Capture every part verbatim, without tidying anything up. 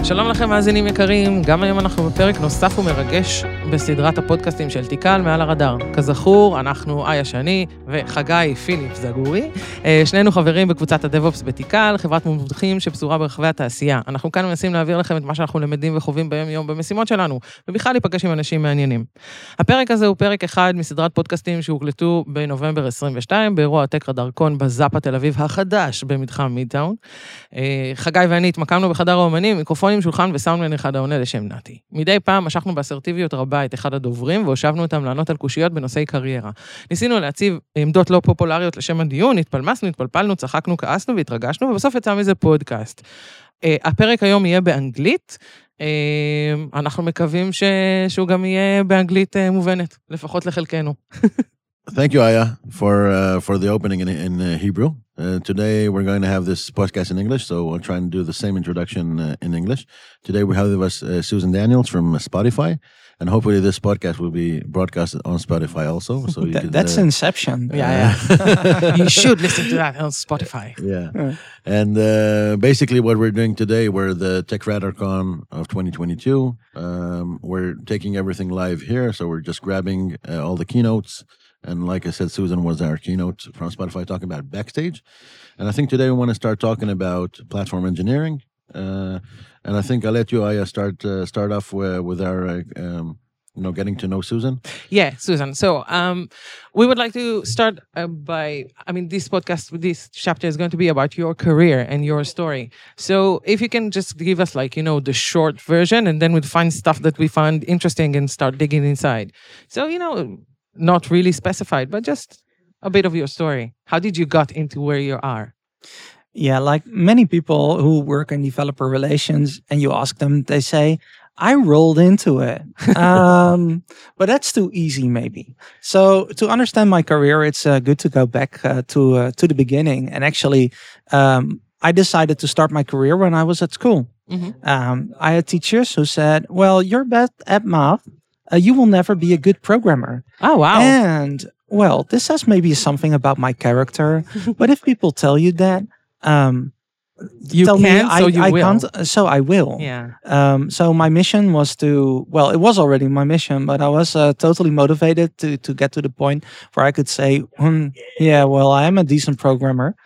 שלום לכם מאזינים יקרים, גם היום אנחנו בפרק נוסף ומרגש בסדרת הפודקאסטים של תיקל מעל הרדאר. כזכור, אנחנו איה שני וחגי פיליפ זגורי, שנינו חברים בקבוצת הדב-אופס בתיקל, חברת מומחים שפזורה ברחבי התעשייה. אנחנו כאן מנסים להעביר לכם את מה שאנחנו למדים וחווים ביום יום במשימות שלנו, ובכלל להיפגש עם אנשים מעניינים. הפרק הזה הוא פרק אחד מסדרת פודקאסטים שהוקלטו בנובמבר עשרים ושתיים, באירוע הטק רדארקון בזאפה תל אביב החדש במתחם מידטאון. חגי ואני התמקמנו בחדר האומנים, מיקרופונים, שולחן וסאונדמן אחד העונה לשם נתי. מדי פעם משכנו באסרטיביות רבה את אחד הדוברים, והושבנו אותם לענות על קושיות בנושאי קריירה. ניסינו להציב עמדות לא פופולריות לשם הדיון, התפלמסנו, התפלפלנו, צחקנו, כעסנו והתרגשנו, ובסוף יצא מזה פודקאסט. הפרק היום יהיה באנגלית, אנחנו מקווים שהוא גם יהיה באנגלית מובנת, לפחות לחלקנו. Thank you, Aya, for uh, for the opening in, in uh, Hebrew. Uh, today we're going to have this podcast in English, so we'll try and do the same introduction uh, in English. Today we have with us uh, Susan Daniels from Spotify, and hopefully this podcast will be broadcasted on Spotify also. So you that, can, that's uh, Inception. Yeah, yeah. You should listen to that on Spotify. Yeah, and uh, basically what we're doing today, we're the Tech RadarCon of twenty twenty-two. Um, we're taking everything live here, so we're just grabbing uh, all the keynotes. And like I said, Susan was our keynote from Spotify talking about Backstage. And I think today we want to start talking about platform engineering. Uh, and I think I'll let you, Aya, start uh, start off with, with our, uh, um, you know, getting to know Susan. Yeah, Susan. So um, we would like to start uh, by, I mean, this podcast, this chapter is going to be about your career and your story. So if you can just give us like, you know, the short version, and then we'll find stuff that we find interesting and start digging inside. So, you know, not really specified, but just a bit of your story. How did you got into where you are? Yeah, like many people who work in developer relations, and you ask them, they say, I rolled into it. um, but that's too easy, maybe. So to understand my career, it's uh, good to go back uh, to uh, to the beginning. And actually, um, I decided to start my career when I was at school. Mm-hmm. Um, I had teachers who said, well, you're bad at math. Uh, you will never be a good programmer. Oh, wow. And, well, this says maybe something about my character. But if people tell you that, um, you tell can, me I, so you I will. can't, so I will. Yeah. Um, so my mission was to, well, it was already my mission, but I was uh, totally motivated to, to get to the point where I could say, hmm, yeah, well, I am a decent programmer.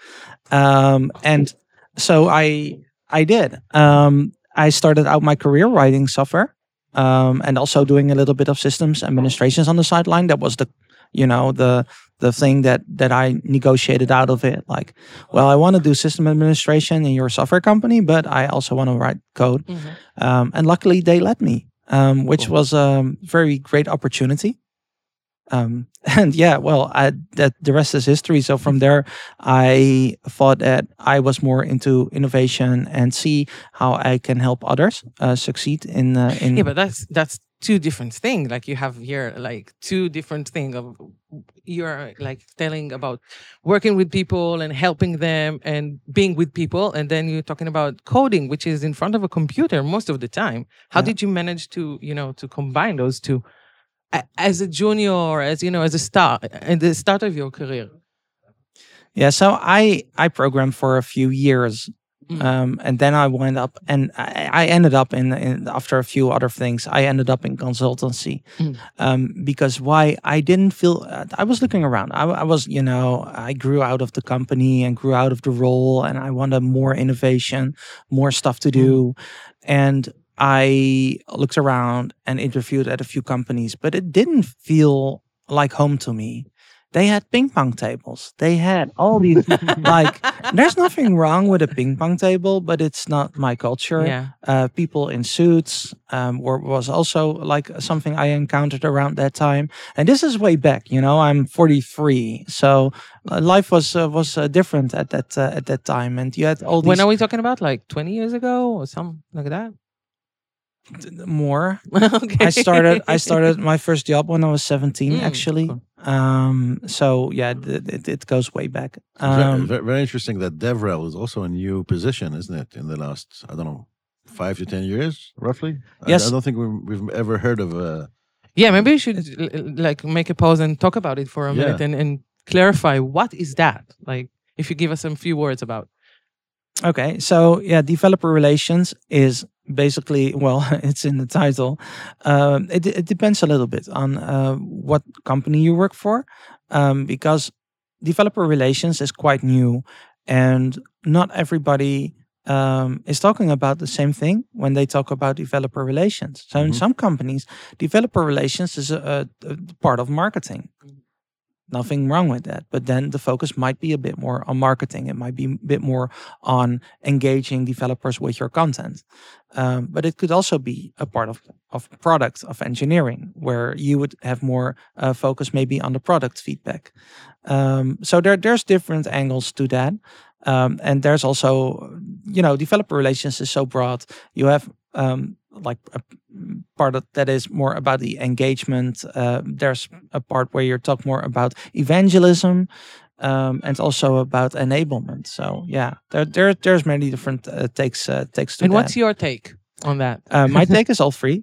Um, and so I, I did. Um, I started out my career writing software. Um, and also doing a little bit of systems administrations on the sideline. That was the, you know, the the thing that that I negotiated out of it. Like, well, I want to do system administration in your software company, but I also want to write code. Mm-hmm. Um, and luckily, they let me, um, which cool. was a very great opportunity. Um, and yeah, well, I, that the rest is history. So from there, I thought that I was more into innovation and see how I can help others uh, succeed in, uh, in. Yeah, but that's that's two different things. Like you have here, like two different things. Of you're like telling about working with people and helping them and being with people, and then you're talking about coding, which is in front of a computer most of the time. How yeah. did you manage to, you know, to combine those two? As a junior, or as you know, as a start, at the start of your career? Yeah, so I I programmed for a few years, mm. um, and then I went up, and I, I ended up in, in after a few other things. I ended up in consultancy, mm. um, because why I didn't feel uh, I was looking around. I, I was, you know, I grew out of the company and grew out of the role, and I wanted more innovation, more stuff to do, mm. and I looked around and interviewed at a few companies, but it didn't feel like home to me. They had ping pong tables. They had all these, like, there's nothing wrong with a ping pong table, but it's not my culture. Yeah. Uh, people in suits um, were, was also like something I encountered around that time. And this is way back, you know, I'm forty-three. So uh, life was uh, was uh, different at that uh, at that time. And you had all these. When are we talking about? Like twenty years ago or something like that? More. Okay. I started I started my first job when I was seventeen, mm, actually. Cool. Um, so yeah, it, it, it goes way back. Um, very, very interesting that DevRel is also a new position, isn't it? In the last, I don't know, five to ten years, roughly. Yes. I, I don't think we've, we've ever heard of a. Yeah, maybe we should like make a pause and talk about it for a minute yeah. and, and clarify what is that. Like, if you give us some few words about. Okay, so yeah, developer relations is basically, well, it's in the title. Um, it, it depends a little bit on uh, what company you work for, um, because developer relations is quite new, and not everybody um, is talking about the same thing when they talk about developer relations. So in Mhm. some companies, developer relations is a, a, a part of marketing. Nothing wrong with that. But then the focus might be a bit more on marketing. It might be a bit more on engaging developers with your content. Um, but it could also be a part of, of product, of engineering, where you would have more uh, focus maybe on the product feedback. Um, so there, there's different angles to that. Um, and there's also, you know, developer relations is so broad. You have um, like a part of, that is more about the engagement. Uh, there's a part where you talk more about evangelism, um, and also about enablement. So yeah, there, there there's many different uh, takes uh, takes to And that. what's your take on that? Uh, my take is all free,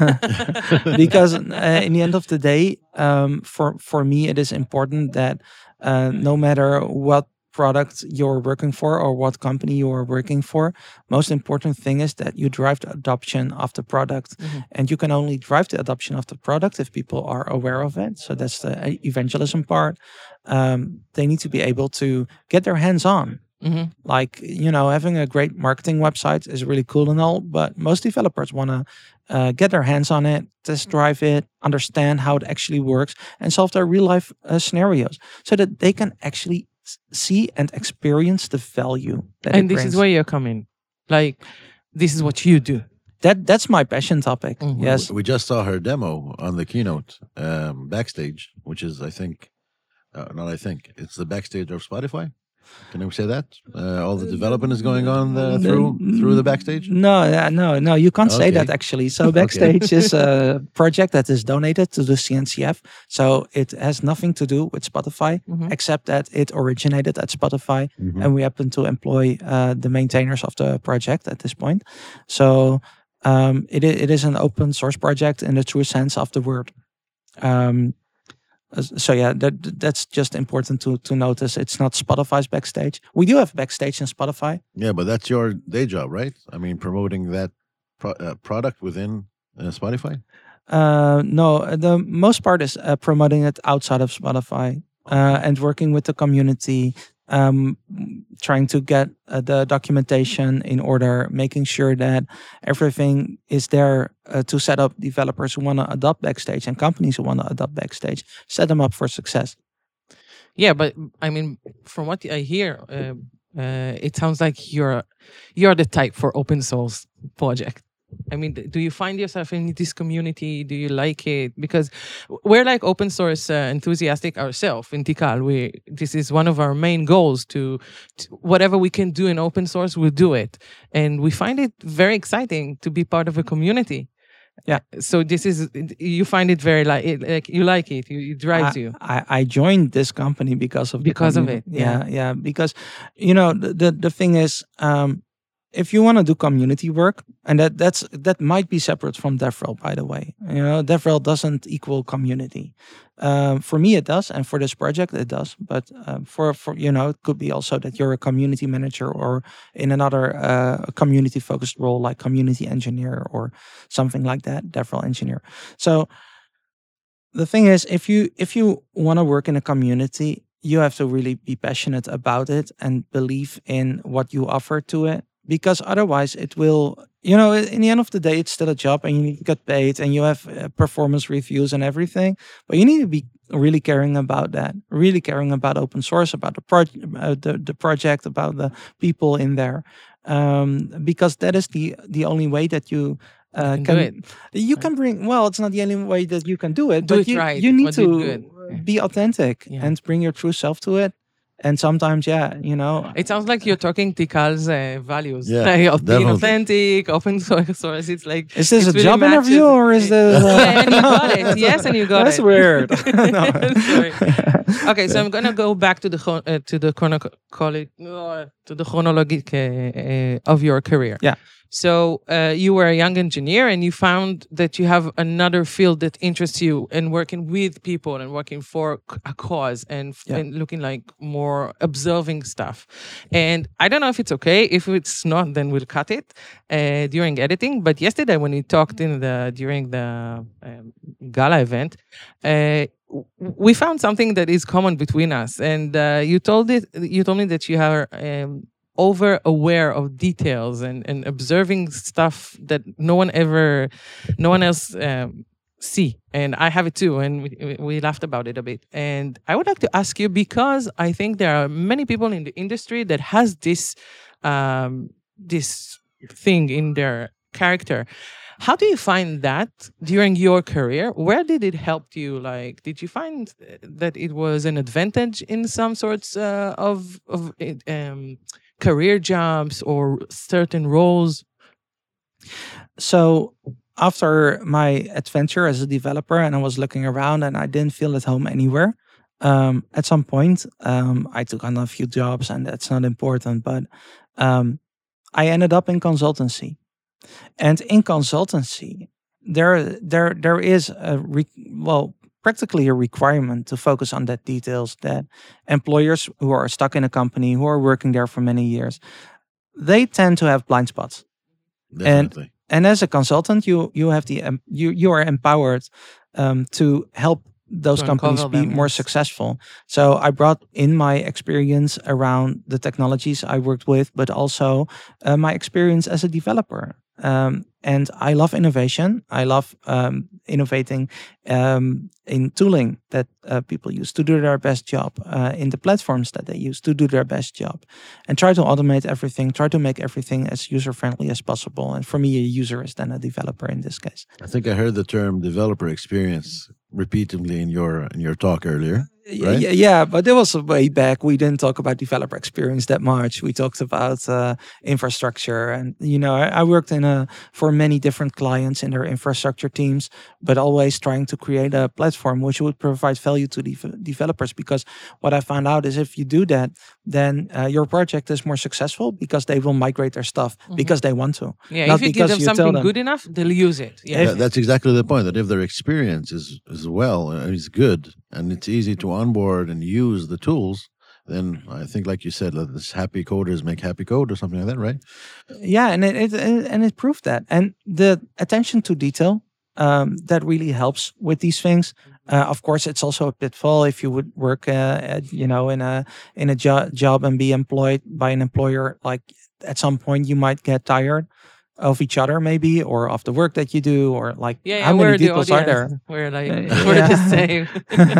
because uh, in the end of the day, um, for for me, it is important that uh, no matter what product you're working for or what company you are working for, most important thing is that you drive the adoption of the product. Mhm. And you can only drive the adoption of the product if people are aware of it. So that's the evangelism part. Um, they need to be able to get their hands on. Mhm. Like, you know, having a great marketing website is really cool and all, but most developers want to uh, get their hands on it, test drive it, understand how it actually works, and solve their real life uh, scenarios so that they can actually s- see and experience the value that And it this brings. is where you come in. Like, this is what you do. that that's my passion topic. Mhm. Yes. We just saw her demo on the keynote um, backstage, which is, I think, uh, not I think, it's the backstage of Spotify. Can we say that? Uh, all the development is going on the, through through the backstage. No, yeah, no, no, you can't say that Okay. actually. So backstage is a project that is donated to the C N C F. So it has nothing to do with Spotify, Mhm. except that it originated at Spotify, Mhm. and we happen to employ uh, the maintainers of the project at this point. So um, it i- it is an open source project in the true sense of the word. Um, uh, so yeah, that that's just important to to notice. It's not Spotify's backstage. We do have backstage in Spotify. Yeah, but that's your day job, right? I mean, promoting that pro- uh, product within uh, Spotify. Uh, no, uh, the most part is uh, promoting it outside of Spotify, uh, and working with the community, um, trying to get uh, the documentation in order, making sure that everything is there uh, to set up developers who want to adopt Backstage and companies who want to adopt Backstage, set them up for success. Yeah, but I mean, from what I hear, uh, uh, it sounds like you're you're the type for open source project. I mean, d- do you find yourself in this community? Do you like it? Because we're like open source uh, enthusiastic ourselves in Tikal. We this is one of our main goals to, to whatever we can do in open source, we'll do it, and we find it very exciting to be part of a community. Yeah. So this is you find it very like it, like you like it. You, it drives I, you. I, I joined this company because of the Because of communi- it, yeah. yeah, yeah. Because you know the the, the thing is, um, if you want to do community work, and that that's that might be separate from DevRel, by the way. You know, DevRel doesn't equal community. Um, for me, it does, and for this project, it does. But um, for for you know, it could be also that you're a community manager or in another uh, community focused role like community engineer or something like that, DevRel engineer. So the thing is, if you if you want to work in a community, you have to really be passionate about it and believe in what you offer to it, because otherwise it will, you know, in the end of the day, it's still a job and you need to get paid and you have uh, performance reviews and everything, but you need to be really caring about that, really caring about open source, about the project, uh, the, the project, about the people in there, um, because that is the the only way that you uh, can can, do it. you can bring, well, it's not the only way that you can do it, Do but it you, right, you need but do it to good. Yeah. be authentic Yeah. and bring your true self to it. And sometimes, yeah, you know, It sounds like you're talking Tikal's uh, values, Yeah, like, of being definitely. authentic, open source. It's like is this it a really job matches- interview or is this? Uh, Yeah, and you no. got it. Yes, and you got That's it. weird. No. Sorry. Okay, so I'm gonna go back to the chron- uh, to the chrono- uh, to the chronologic uh, uh, of your career. Yeah. So uh, you were a young engineer and you found that you have another field that interests you and working with people and working for a cause and, Yeah. and looking like more observing stuff. And I don't know if it's okay. If it's not, then we'll cut it uh, during editing. But yesterday when we talked in the during the um, gala event, uh, we found something that is common between us. And uh, you told it. You told me that you are um, over aware of details and, and observing stuff that no one ever, no one else um, see. And I have it too. And we, we laughed about it a bit. And I would like to ask you, because I think there are many people in the industry that has this um, this thing in their character. How do you find that during your career? Where did it help you? Like, did you find that it was an advantage in some sorts uh, of of um, career jobs or certain roles? So after my adventure as a developer, and I was looking around, and I didn't feel at home anywhere. Um, at some point, um, I took on a few jobs, and that's not important. But um, I ended up in consultancy. And in consultancy, there there there is a re- well practically a requirement to focus on that details that employers who are stuck in a company, who are working there for many years, they tend to have blind spots. Definitely. And as a consultant, you you have the um, you you are empowered um, to help those To companies uncover be them, more yes. successful. So I brought in my experience around the technologies I worked with, but also uh, my experience as a developer. Um, and I love innovation. I love um, innovating um, in tooling that uh, people use to do their best job, uh, in the platforms that they use to do their best job, and try to automate everything, try to make everything as user-friendly as possible. And for me, a user is then a developer in this case. I think I heard the term developer experience repeatedly in your in your talk earlier. Right? Yeah, yeah, but that was way back. We didn't talk about developer experience that much. We talked about uh, infrastructure, and you know, I, I worked in a for many different clients in their infrastructure teams, but always trying to create a platform which would provide value to the developers. Because what I found out is if you do that, then uh, your project is more successful because they will migrate their stuff Mm-hmm. because they want to. Yeah, Not if you give because them you tell something them. good enough, they'll use it. Yeah. That- that's exactly the point. That if their experience is is well and is good, and it's easy to onboard and use the tools, then I think, like you said, that this happy coders make happy code or something like that, right? Yeah, and it, it and it proved that. And the attention to detail, um, that really helps with these things. Uh, of course, it's also a pitfall if you would work, uh, at, you know, in a in a jo- job and be employed by an employer. Like at some point, you might get tired of each other, maybe, or of the work that you do, or like Yeah, yeah, how many we're the details are there? audience. We're like, Uh, we're yeah. the same.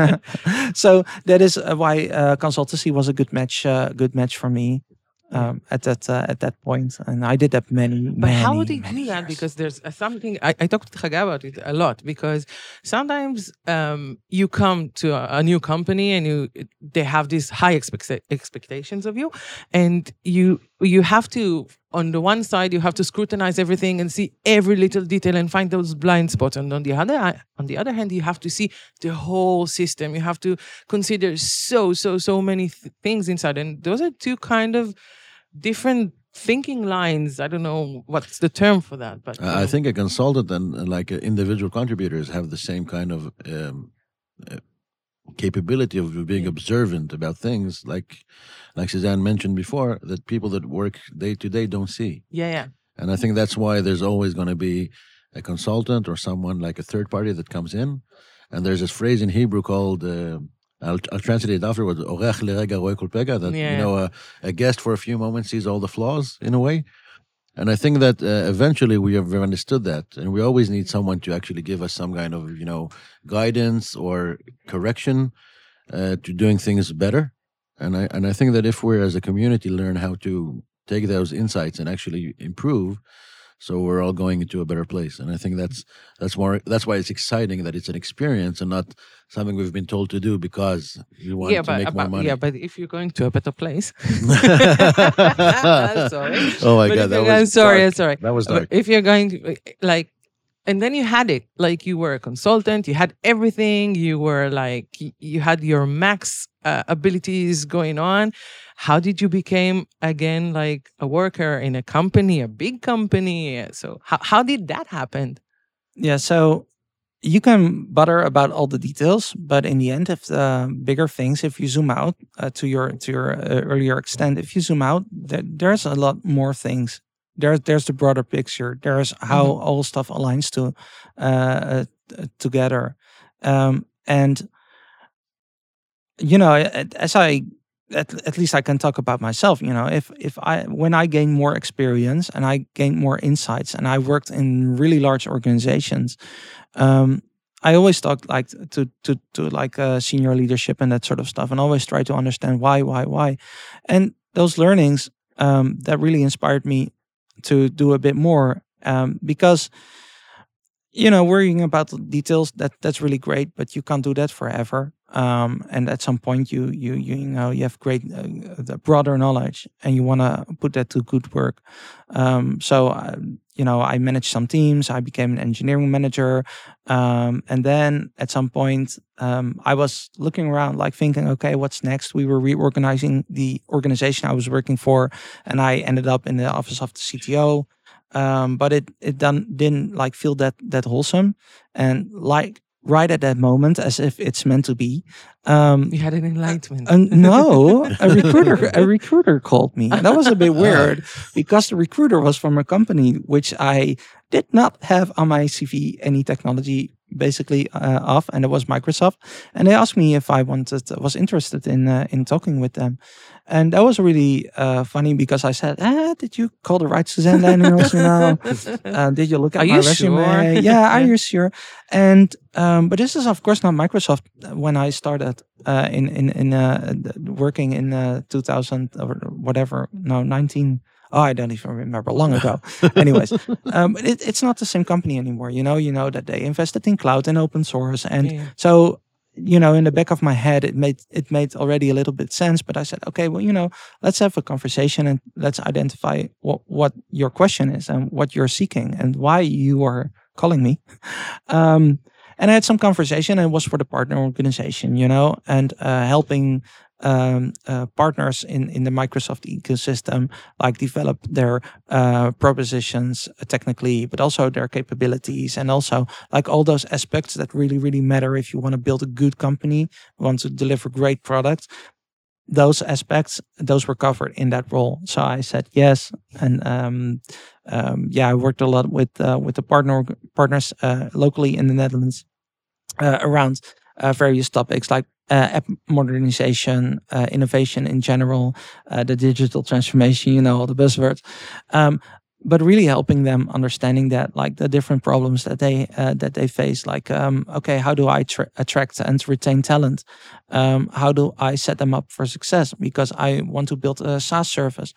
So that is uh, why uh, consultancy was a good match, uh, good match for me um, at that uh, at that point, and I did that many. But how many, do you many do that? years. Because there's uh, something, I, I talked to Chagai about it a lot, because sometimes um, you come to a, a new company and you they have these high expect- expectations of you, and you you have to, on the one side, you have to scrutinize everything and see every little detail and find those blind spots. And on the other on the other hand, you have to see the whole system. You have to consider so, so, so many th- things inside. And those are two kind of different thinking lines. I don't know what's the term for that, but Uh, I think a consultant and, and like uh, individual contributors have the same kind of um, uh, capability of being Yeah. observant about things, like like Suzanne mentioned before, that people that work day to day don't see. yeah, yeah. And I think that's why there's always going to be a consultant or someone like a third party that comes in. And there's this phrase in Hebrew called, uh, I'll, I'll translate it afterwards, "Orech lerega roe kol pega," that, Yeah. you know, a, a guest for a few moments sees all the flaws in a way. And I think that uh, eventually we have understood that. And we always need someone to actually give us some kind of, you know, guidance or correction uh, to doing things better. And I and I think that if we're as a community learn how to take those insights and actually improve, so we're all going into a better place. And I think that's that's more that's why it's exciting that it's an experience and not something we've been told to do because you want yeah, to but, make more but- money. yeah, but if you're going to a better place, sorry. Oh my But god, if that you're was going- sorry, dark. sorry. That was But dark. if you're going to like, and then you had it, like you were a consultant, you had everything, you were like, y- you had your max uh, abilities going on. how did you become again like a worker in a company, a big company? So how, how did that happen? Yeah, so you can bother about all the details, but in the end, if the bigger things, if you zoom out uh, to your to your uh, earlier extent, if you zoom out, there, there's a lot more things. There's there's the broader picture. There's how Mhm. all stuff aligns to uh, uh, together, um, and you know, a- as I at, at least I can talk about myself. You know, if if I when I gain more experience and I gain more insights, and I worked in really large organizations, um, I always talk like to to to like uh, senior leadership and that sort of stuff, and always try to understand why, why, why, and those learnings um, that really inspired me to do a bit more um, because you know worrying about the details that that's really great, but you can't do that forever. Um, and at some point, you you you, you know you have great uh, the broader knowledge, and you want to put that to good work. Um, so uh, you know, I managed some teams. I became an engineering manager, um, and then at some point, um, I was looking around, like thinking, okay, what's next? We were reorganizing the organization I was working for, and I ended up in the office of the C T O. Um, but it it done, didn't like feel that that wholesome, and like right at that moment, as if it's meant to be. Um, You had an enlightenment. uh, no, a recruiter a recruiter called me. And that was a bit weird because the recruiter was from a company which I did not have on my C V any technology basically uh, of, and it was Microsoft. And they asked me if I wanted was interested in uh, in talking with them. And that was really uh, funny because I said, ah, did you call the right Suzanne Daniels? You know, uh, did you look at Are my you resume? sure? Yeah, are Yeah. you sure? And um, but this is of course not Microsoft. When I started uh, in in in uh, working in uh, two thousand or whatever, no nineteen. Oh, I don't even remember. Long ago. Anyways, um, it, it's not the same company anymore. You know, you know that they invested in cloud and open source, and Yeah. so you know, in the back of my head, it made it made already a little bit sense. But I said, okay, well, you know, let's have a conversation and let's identify what what your question is and what you're seeking and why you are calling me. Um, and I had some conversation, and it was for the partner organization, you know, and uh, helping um, uh, partners in, in the Microsoft ecosystem, like develop their uh, propositions technically, but also their capabilities, and also like all those aspects that really, really matter if you want to build a good company, want to deliver great products. Those aspects, those were covered in that role. So I said yes, and um, um, yeah, I worked a lot with uh, with the partner partners uh, locally in the Netherlands uh, around uh, various topics like uh, app modernization, uh, innovation in general, uh, the digital transformation. You know all the buzzwords. Um, but really helping them understanding that like the different problems that they uh, that they face, like um, okay, how do I tra- attract and retain talent? Um, how do I set them up for success? Because I want to build a SaaS service.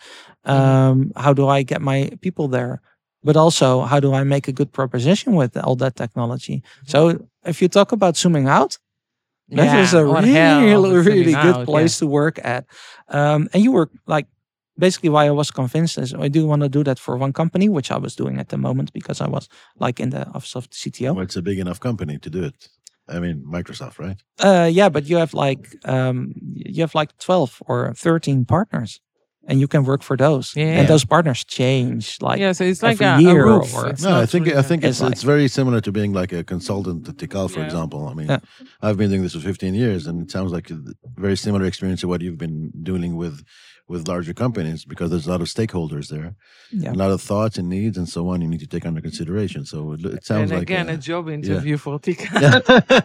Um, how do I get my people there? But also, how do I make a good proposition with all that technology? So, if you talk about zooming out, that is a what hell really, is really zooming good out, place to work at. Um, and you were like, basically, why I was convinced is I do want to do that for one company, which I was doing at the moment because I was like in the office of the C T O. Well, it's a big enough company to do it. I mean, Microsoft, right? Uh, yeah, but you have like um, you have like twelve or thirteen partners, and you can work for those. Yeah. And those partners change like Yeah, so it's like every a, a year roof. or- It's No, I not think really I a- think it's It's it's very similar to being like a consultant at Tikal, for Yeah. example. I mean, Yeah. I've been doing this for fifteen years, and it sounds like a very similar experience to what you've been dealing with with larger companies, because there's a lot of stakeholders there, Yeah. a lot of thoughts and needs and so on. You need to take under consideration. So it, it sounds and like again, a, a job interview for Tika. Yeah.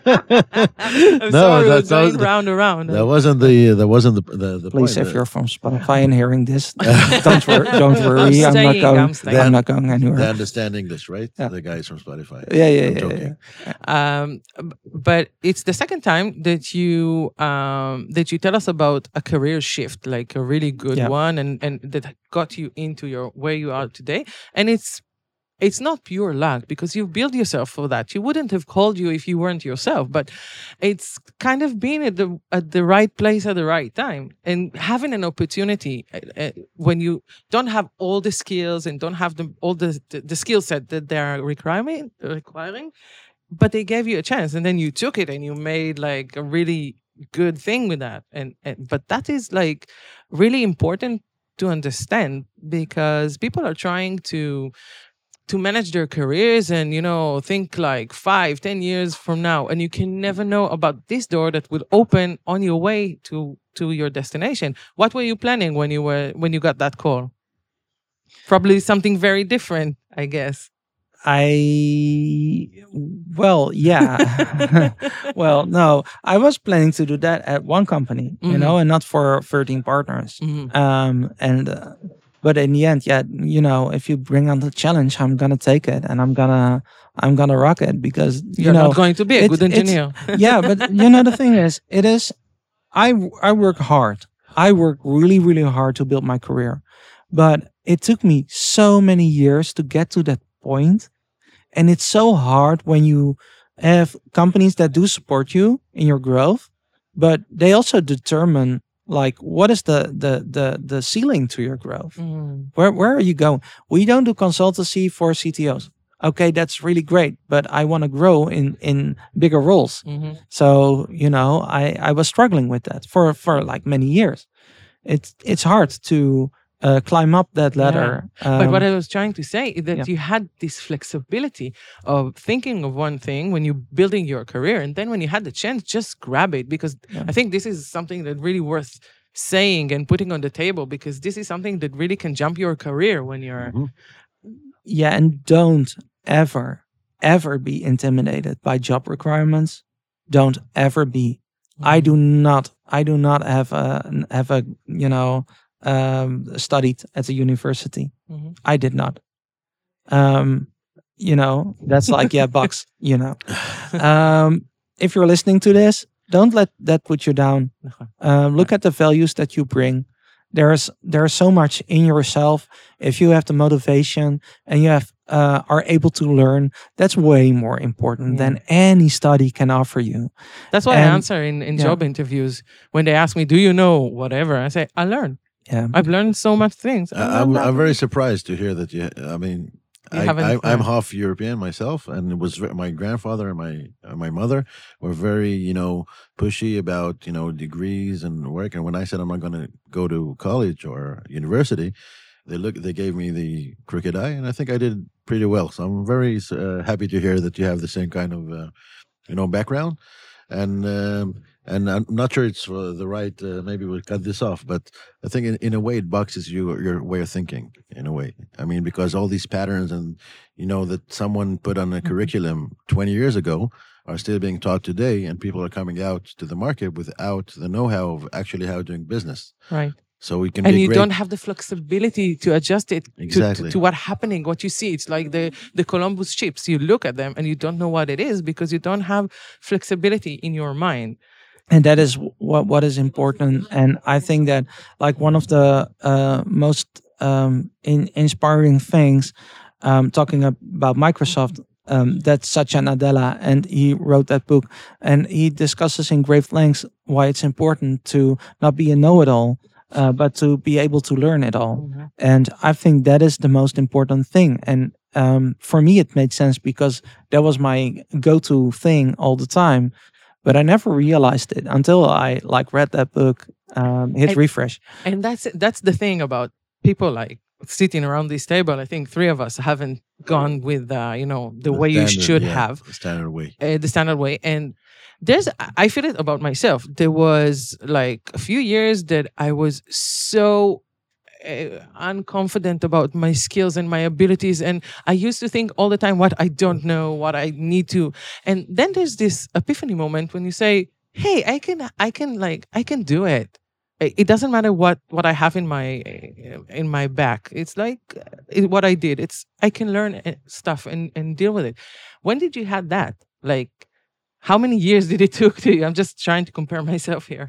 I'm No, sorry, we're that's not going the- round and round. that wasn't the that wasn't the the, the Please, point. if The- you're from Spotify and hearing this, don't worry. Don't worry. I'm I'm, not staying, going. I'm I'm, staying. not going they anywhere. understand English, right? Yeah. The guys from Spotify. Yeah, yeah, I'm yeah, joking. yeah. Um, b- but it's the second time that you um, that you tell us about a career shift, like a really good Yeah. one, and and that got you into your where you are today. And it's it's not pure luck because you've built yourself for that. You wouldn't have called you if you weren't yourself. But it's kind of being at the at the right place at the right time and having an opportunity uh, uh, when you don't have all the skills and don't have the all the the, the skill set that they are requiring requiring. But they gave you a chance, and then you took it, and you made like a really good thing with that. And, and but that is like really important to understand, because people are trying to to manage their careers and, you know, think like five, ten years from now, and you can never know about this door that will open on your way to to your destination. What were you planning when you were when you got that call? Probably something very different, I guess. I, well, yeah. Well, no, I was planning to do that at one company, Mm-hmm. you know, and not for thirteen partners. Mm-hmm. Um, and, uh, but in the end, yeah, you know, if you bring on the challenge, I'm gonna take it, and I'm gonna, I'm gonna rock it, because you You're know, not going to be a it's- good it's- engineer. yeah, but you know, the thing is, it is, I, I work hard. I work really, really hard to build my career, but it took me so many years to get to that point. And it's so hard when you have companies that do support you in your growth, but they also determine like what is the the the the ceiling to your growth. Mm. Where where are you going? We don't do consultancy for C T Os. Okay, that's really great, but I want to grow in in bigger roles. Mm-hmm. So you know, I I was struggling with that for for like many years. It's it's hard to uh, climb up that ladder. But what Um, I was trying to say is that yeah. you had this flexibility of thinking of one thing when you're building your career, and then when you had the chance, just grab it. Because Yeah. I think this is something that really worth saying and putting on the table, because this is something that really can jump your career when you're. Mhm. Yeah, and don't ever, ever be intimidated by job requirements. Don't ever be. I do not. I do not have a have a you know um, studied at a university. Mhm. I did not. Um, you know that's like yeah, bucks. You know, um, if you're listening to this, don't let that put you down. Um, look at the values that you bring. There's there's so much in yourself. If you have the motivation and you have uh, are able to learn, that's way more important Yeah. than any study can offer you. That's what I And- answer in, in yeah. job interviews when they ask me, "Do you know whatever?" I say, "I learn. Yeah, I've learned so much things." I I, learned I'm, that. I'm very surprised to hear that you. I mean, You I, haven't, I, I'm uh, half European myself, and it was ve- my grandfather and my uh, my mother were very, you know, pushy about, you know, degrees and work. And when I said I'm not going to go to college or university, they look they gave me the crooked eye, and I think I did pretty well. So I'm very uh, happy to hear that you have the same kind of, uh, you know, background. And um, and I'm not sure it's uh, the right. Uh, maybe we'll cut this off, but I think in, in a way it boxes you your way of thinking. In a way, I mean, because all these patterns and you know that someone put on a curriculum twenty years ago are still being taught today, and people are coming out to the market without the know-how of actually how doing business. right. So we can And be you great. don't have the flexibility to adjust it to, to, Exactly. to what happening, what you see. It's like the, the Columbus chips. You look at them and you don't know what it is because you don't have flexibility in your mind. and that is what what is important. And I think that like one of the uh, most um, in, inspiring things, um, talking ab- about Microsoft. Um, that's Satya Nadella, and he wrote that book, and he discusses in great lengths why it's important to not be a know-it-all, uh, but to be able to learn it all. And I think that is the most important thing. And um, for me, it made sense because that was my go-to thing all the time. But I never realized it until I like read that book, um, hit And- refresh. And that's that's the thing about people like sitting around this table. I think three of us haven't gone with uh, you know the, The way you standard, should yeah, have. the standard way. uh, the standard way. And there's, I feel it about myself. There was like a few years that I was so uh, unconfident about my skills and my abilities. And I used to think all the time what I don't know, what I need to. And then there's this epiphany moment when you say, hey, I can, I can like, I can do it. It it doesn't matter what, what I have in my in my back. It's like uh, it, what I did. It's I can learn uh, stuff and, and deal with it. When did you have that? Like, how many years did it took to you? I'm just trying to compare myself here.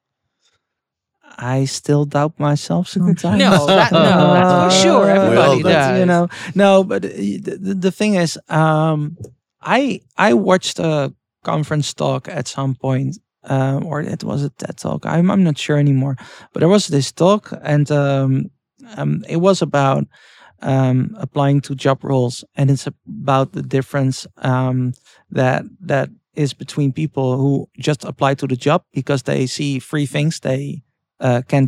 I still doubt myself sometimes. No, that- no, that's for sure. Everybody but, does. You know, no, but uh, the, the, the thing is, um, I I watched a conference talk at some point, um, or it was a TED talk. I'm I'm not sure anymore. But there was this talk, and um, um, it was about um, applying to job roles, and it's about the difference um, that that is between people who just apply to the job because they see three things they uh, can do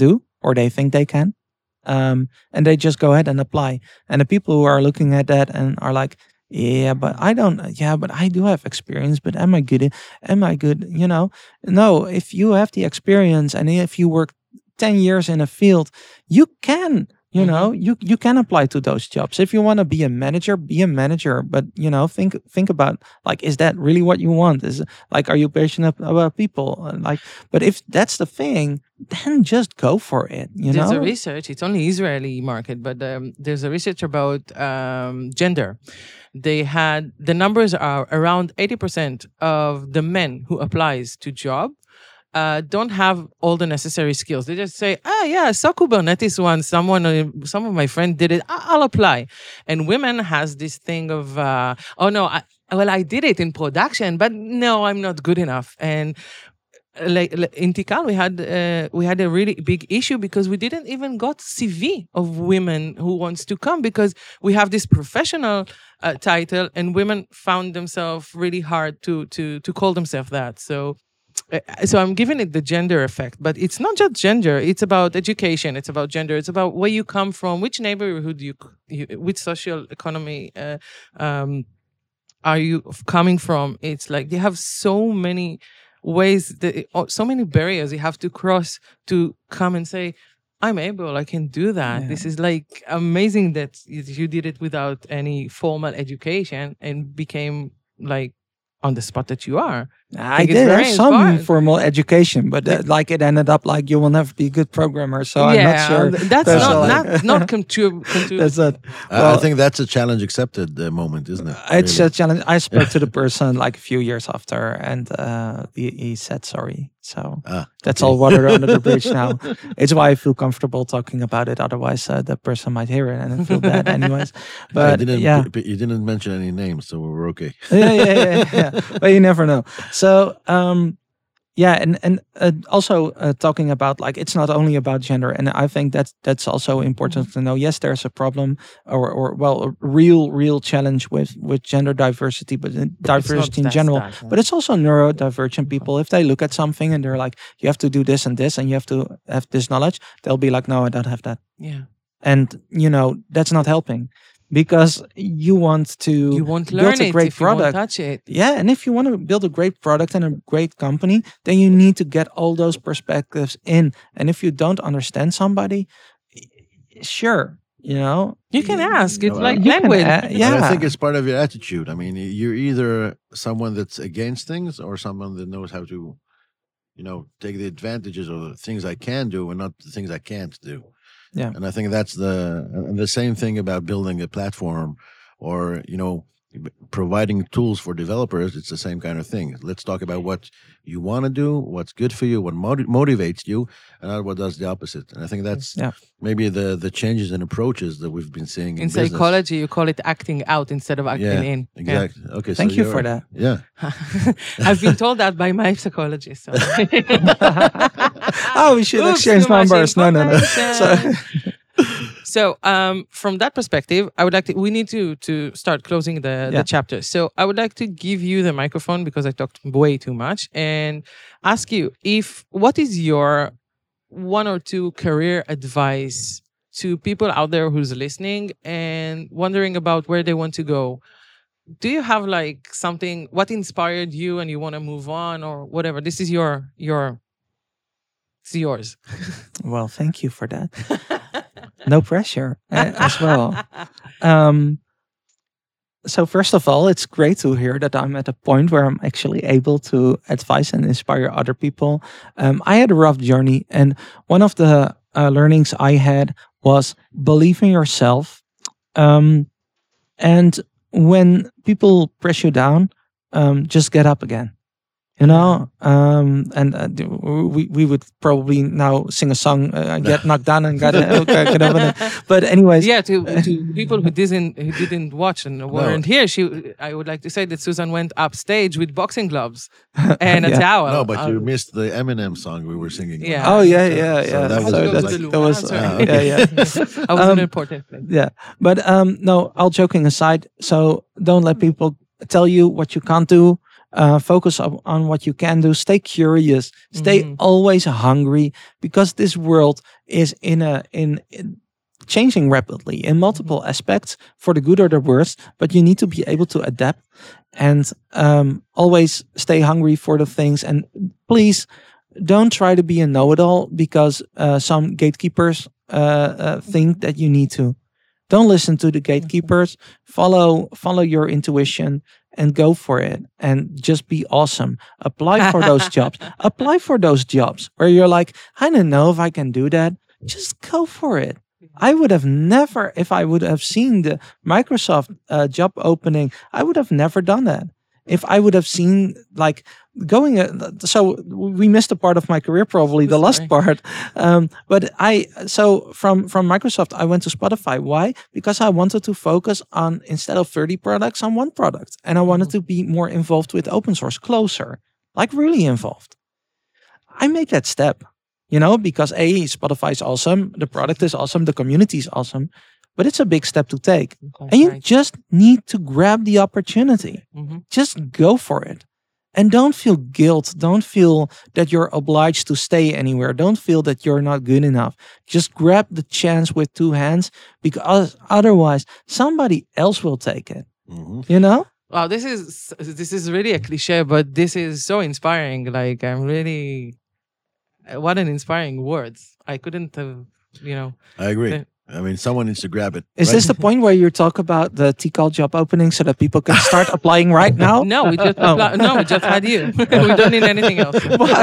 or they think they can. Um, and they just go ahead and apply. And the people who are looking at that and are like, yeah, but I don't, yeah, but I do have experience, but am I good? in- Am I good? You know, no, if you have the experience and if you work ten years in a field, you can, you Mhm. know, you, you can apply to those jobs. If you want to be a manager, be a manager. But, you know, think, think about like, is that really what you want? Is like, are you passionate about people? Uh, Like, but if that's the thing, then just go for it, you There's know? a research. It's only Israeli market, but um, there's a research about um, gender. They had the numbers are around eighty percent of the men who applies to job uh, don't have all the necessary skills. They just say, ah, yeah, I saw Kubernetes once. Someone, uh, some of my friend did it. I- I'll apply. And women has this thing of, uh, oh no, I, well, I did it in production, but no, I'm not good enough. And uh, like, like in Tikal, we had uh, we had a really big issue because we didn't even got C V of women who wants to come because we have this professional uh, title, and women found themselves really hard to to to call themselves that. So. uh, So I'm giving it the gender effect, but it's not just gender. It's about education. It's about gender. It's about where you come from, which neighborhood you, you which social economy uh, um, are you f- coming from. It's like they have so many ways, that, oh, so many barriers you have to cross to come and say, I'm able, I can do that. Yeah. This is like amazing that you you did it without any formal education and became like on the spot that you are. I think it's did very have some inspiring. formal education, but uh, like it ended up like you will never be a good programmer. So I'm not sure. th- that's, That's not, like- not not contrib- contrib- That's it. I- I Well, think that's a challenge accepted uh, moment, isn't it? It's Really? a challenge. I spoke to the person like a few years after, and uh, he, he said sorry. So Ah, that's okay. all water under the bridge now. It's why I feel comfortable talking about it. Otherwise, uh, the person might hear it and feel bad, anyways. I But didn't, yeah, but you didn't mention any names, so we're okay. yeah, yeah, yeah, yeah. But you never know. So, um, yeah, and and uh, also uh, talking about like it's not only about gender, and I think that's that's also important to know. Yes, there's a problem, or or well, a real real challenge with with gender diversity, but uh, It's not diversity in just general. that, yeah. But it's also neurodivergent people. If they look at something and they're like, you have to do this and this, and you have to have this knowledge, they'll be like, no, I don't have that, yeah. and you know that's not helping. Because you want to You won't build learn a it great if you won't product. touch it. Yeah, and if you want to build a great product and a great company, then you need to get all those perspectives in. And if you don't understand somebody, sure, you know, You can ask. It's Well, like you can language. a- But yeah, I think it's part of your attitude. I mean, you're either someone that's against things or someone that knows how to, you know, take the advantages of the things I can do and not the things I can't do. Yeah. And I think that's the and the same thing about building a platform or, you know, providing tools for developers. It's the same kind of thing. Let's talk about what you want to do, what's good for you, what motiv- motivates you, and not what does the opposite. And I think that's Yeah. maybe the the changes in approaches that we've been seeing in, In business. psychology, you call it acting out instead of acting Yeah, in. Yeah. Exactly. Okay. Thank so you you're- for that. Yeah. I've been told that by my psychologist. So. Oh, we should Oops, exchange too much numbers. No, no, no. So, information. So, um, from that perspective, I would like to. We need to to start closing the Yeah. the chapter. So, I would like to give you the microphone because I talked way too much, and ask you if what is your one or two career advice to people out there who's listening and wondering about where they want to go. Do you have like something? What inspired you, and you want to move on, or whatever? This is your your. It's yours. well, thank you for that. No pressure uh, as well. Um, so first of all, it's great to hear that I'm at a point where I'm actually able to advise and inspire other people. Um, I had a rough journey, and one of the uh, learnings I had was believe in yourself. Um, and when people press you down, um, just get up again. You know, um, and uh, d- we we would probably now sing a song, uh, get knocked down and got uh, get over it. But anyways, Yeah, to to people who didn't who didn't watch and weren't here, she I would like to say that Susan went upstage with boxing gloves and a Yeah. towel. No, but you Um, missed the Eminem song we were singing. Yeah. Oh yeah, yeah, So yeah. that was- So that was that's- like- that was, Sorry. Ah, yeah, okay. yeah. I was an Um, important thing. Yeah, but um, no, all joking aside. So don't let people tell you what you can't do. Uh, focus on, on what you can do. Stay curious. Stay Mhm. always hungry, because this world is in a in, in changing rapidly in multiple aspects, for the good or the worse. But you need to be able to adapt, and um, always stay hungry for the things. And please don't try to be a know-it-all, because uh, some gatekeepers uh, uh, think that you need to. Don't listen to the gatekeepers. Follow follow your intuition and go for it. And just be awesome. Apply for those jobs. Apply for those jobs where you're like, I don't know if I can do that. Just go for it. I would have never, if I would have seen the Microsoft uh, job opening, I would have never done that. If I would have seen like going, uh, so we missed a part of my career, probably the last Sorry. part. Um, but I, so from from Microsoft, I went to Spotify. Why? Because I wanted to focus on, instead of thirty products, on one product, and I wanted to be more involved with open source, closer, like really involved. I made that step, you know, because a Spotify is awesome, the product is awesome, the community is awesome, but it's a big step to take. Okay, And you right. just need to grab the opportunity. Mhm. Just go for it. And don't feel guilt. Don't feel that you're obliged to stay anywhere. Don't feel that you're not good enough. Just grab the chance with two hands, because otherwise somebody else will take it. Mhm. You know? Wow, this is this is really a cliche, but this is so inspiring. Like, I'm really, what an inspiring words. I couldn't have, you know. I agree. Yeah. I mean, someone needs to grab it. Is right? this the point where you talk about the T C A L job opening so that people can start applying right now? No, we just Oh. apply- no, we just had you. We don't need anything else.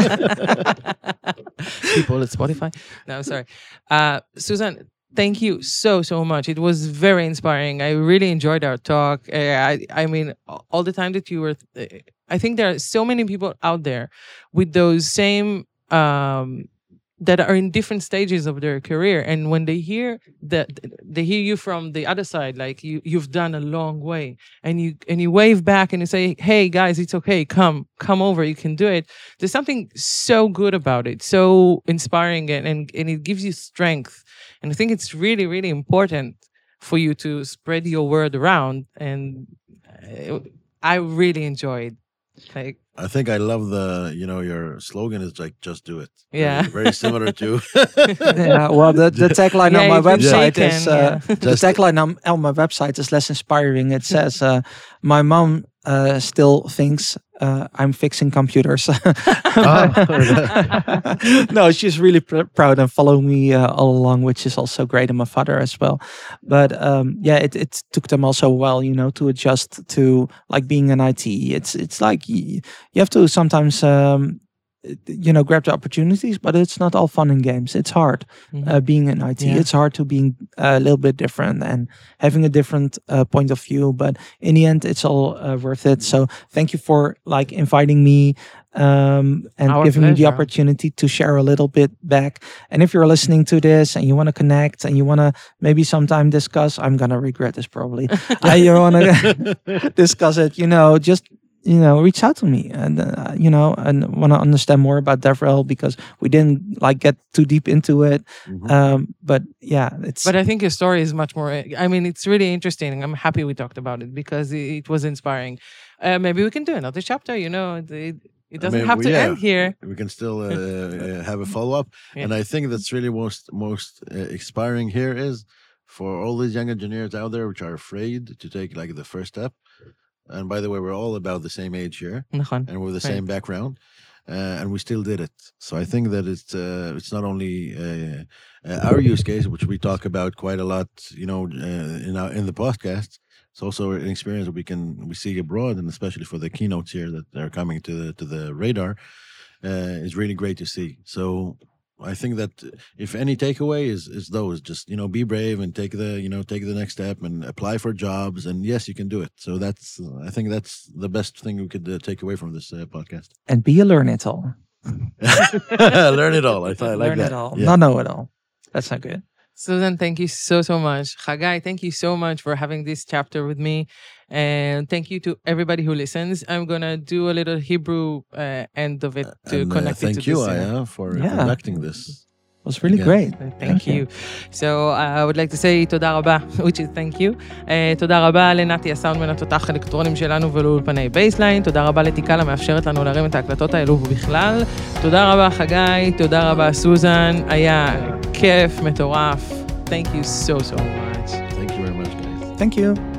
People at Spotify. No, sorry. Uh, Susan, thank you so so much. It was very inspiring. I really enjoyed our talk. Uh, I I mean, all the time that you were. Uh, I think there are so many people out there with those same. Um, that are in different stages of their career, and when they hear that, they hear you from the other side, like you you've done a long way, and you and you wave back and you say, hey guys, it's okay, come come over, you can do it. There's something so good about it, so inspiring, and and, and it gives you strength. And I think it's really really important for you to spread your word around, and uh, I really enjoyed, like, I think I love the, you know, your slogan is like, just do it. Yeah. Very, very similar to. Yeah, well, the, the tagline Yeah, on my you've been website shaken, is uh, yeah. the Just- tagline on, on my website is less inspiring. It says, uh, "My mom uh, still thinks uh, I'm fixing computers." No, she's really pr- proud and following me uh, all along, which is also great, and my father as well. But um, yeah, it, it took them also a while, you know, to adjust to like being in I T. It's it's like you, you have to sometimes. Um, you know, grab the opportunities, but it's not all fun and games. It's hard Mhm. uh, being in I T. Yeah. It's hard to being a little bit different and having a different uh, point of view. But in the end, it's all uh, worth it. So thank you for like inviting me um, and Our giving me the pleasure. opportunity to share a little bit back. And if you're listening to this and you want to connect and you want to maybe sometime discuss, I'm gonna regret this probably. uh, you want to discuss it, you know, just you know, reach out to me and uh, you know, and want to understand more about DevRel, because we didn't like get too deep into it. Mhm. Um, but yeah, it's But I think your story is much more. I mean, it's really interesting. I'm happy we talked about it because it, it was inspiring. Uh, maybe we can do another chapter. You know, it, it, it doesn't mean, have we- to yeah. end here. We can still uh, uh, have a follow up. Yeah. And I think that's really most most uh, inspiring here is for all these young engineers out there which are afraid to take like the first step. And by the way, we're all about the same age here, נכון. and we're the Right. same background, uh, and we still did it. So I think that it's uh, it's not only uh, uh, our use case, which we talk about quite a lot, you know, uh, in our in the podcast. It's also an experience that we can we see abroad, and especially for the keynotes here that are coming to the to the radar, uh, is really great to see. So I think that if any takeaway is is those, just you know, be brave and take the you know take the next step and apply for jobs, and yes, you can do it. So that's uh, I think that's the best thing we could uh, take away from this uh, podcast. and be a learn it all. Learn it all. I, th- I like learn that. it all, Yeah. not know it all. That's not good. Susan, thank you so, so much. Chagai, thank you so much for having this chapter with me. And thank you to everybody who listens. I'm going to do a little Hebrew uh, end of it to And, uh, connect it thank to you, this. uh, Aya, for Yeah. conducting this. It was really Again. great. Thank, Thank you. So uh, I would like to say תודה רבה, which is thank you. Uh, תודה רבה לנתי הסאונדמן התותח האלקטרונים שלנו ולאולפני בייסליין. תודה רבה לתיקה המאפשרת לנו להרים את ההקלטות האלו ובכלל. תודה רבה חגי, תודה רבה סוזן. היה כיף, מטורף. Thank you so so much. Thank you very much, guys. Thank you.